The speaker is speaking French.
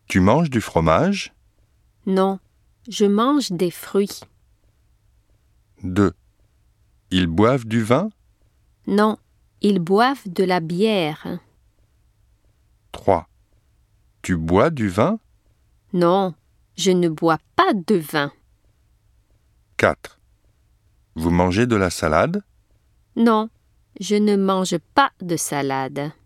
Tu manges du fromage? Non, je mange des fruits. 2. Ils boivent du vin? Non, ils boivent de la bière. 3. Tu bois du vin? Non, je ne bois pas de vin. 4. Vous mangez de la salade? Non, je ne mange pas de salade.